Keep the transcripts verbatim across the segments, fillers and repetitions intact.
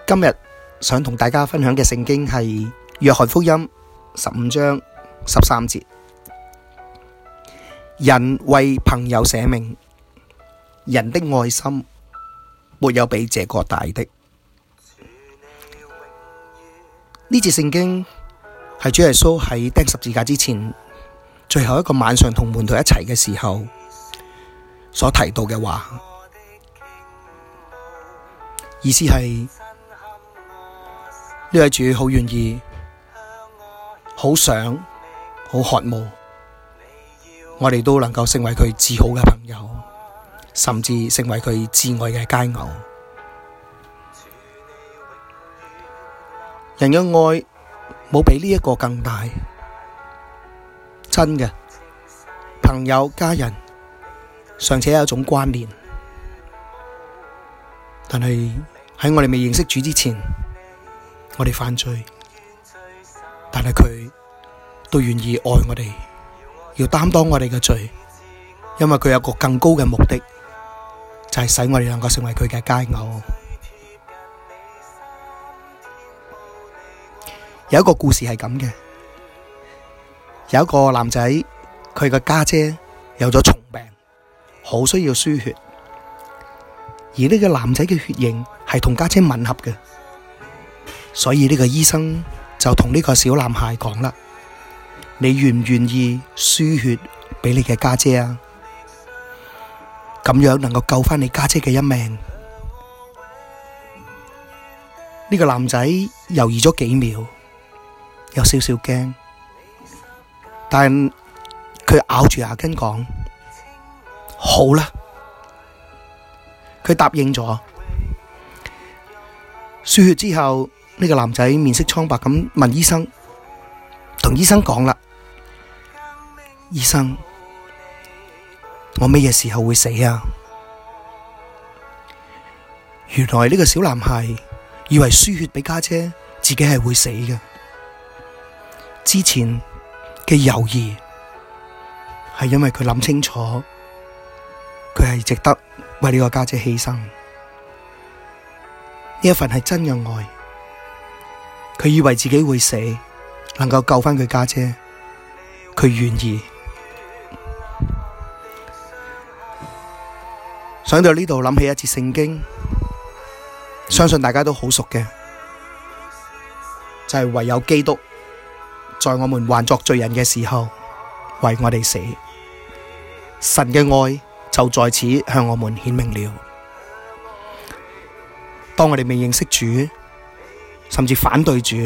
今日想同大家分享嘅聖經係約翰福音十五章十三節，人為朋友捨命，人的愛心沒有比這個大的。呢節聖經係主耶穌喺釘十字架之前最後一個晚上同門徒一齊嘅時候所提到嘅話，意思係呢位主好願意、好想、好渴慕，我哋都能夠成為佢至好嘅朋友，甚至成為佢至愛嘅佳偶。人嘅愛冇比呢一個更大，真嘅朋友、家人尚且有一種關聯，但係喺我哋未認識主之前，我哋犯罪，但係佢都願意愛我哋，要擔當我哋嘅罪，因為佢有個更高嘅目的，就係使我哋能夠成為佢嘅佳偶。有一個故事係咁嘅，有一個男仔，佢嘅家姐有咗蟲病，好需要輸血，而呢個男仔嘅血型係同家姐吻合嘅，所以呢個醫生就同呢個小男孩講啦：你願唔願意輸血俾你嘅家姐啊？咁樣能夠救翻你家姐嘅一命。呢個男仔猶豫咗幾秒，有少少驚，但佢咬住牙根講：好啦，佢答應咗。輸血之後，呢個男仔面色蒼白咁問醫生，同醫生講啦：醫生，我咩嘢時候會死啊？原來呢個小男孩以為輸血俾家姐，自己係會死嘅。之前嘅猶豫係因為佢諗清楚，佢係值得為呢個家姐犧牲。呢一份係真嘅愛，佢以為自己會死，能夠救翻佢家姐，佢願意。想到呢度，諗起一節聖經，相信大家都好熟嘅，就係唯有基督在我們還作罪人嘅時候為我哋死，神嘅愛就在此向我們顯明了。當我哋未認識主，甚至反對主，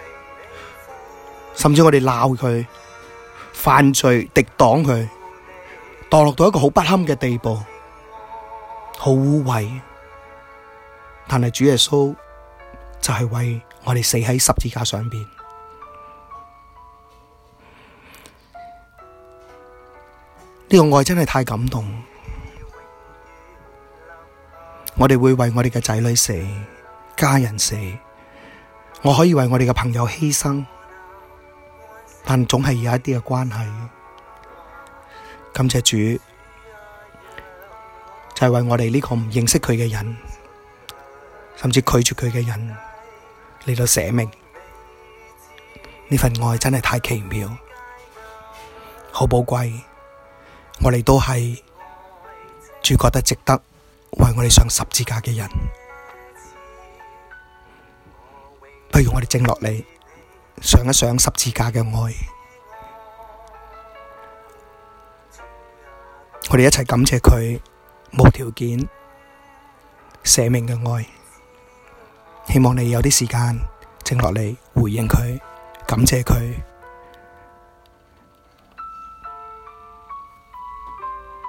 甚至我哋鬧佢犯罪、敵擋佢，墮落到一個好不堪嘅地步，好污穢，但係主耶穌就係為我哋死喺十字架上邊。呢個愛真係太感動，我哋會為我哋嘅仔女死、家人死，我可以為我哋嘅朋友犧牲，但總係有一啲嘅關係。感謝主，就係為我哋呢個唔認識佢嘅人，甚至拒絕佢嘅人嚟到捨命。呢份愛真係太奇妙，好寶貴。我哋都係主覺得值得為我哋上十字架嘅人，不如我哋靜落嚟，上一上十字架嘅愛，我哋一齊感謝佢無條件捨命嘅愛。希望你有啲時間靜落嚟回應佢，感謝佢。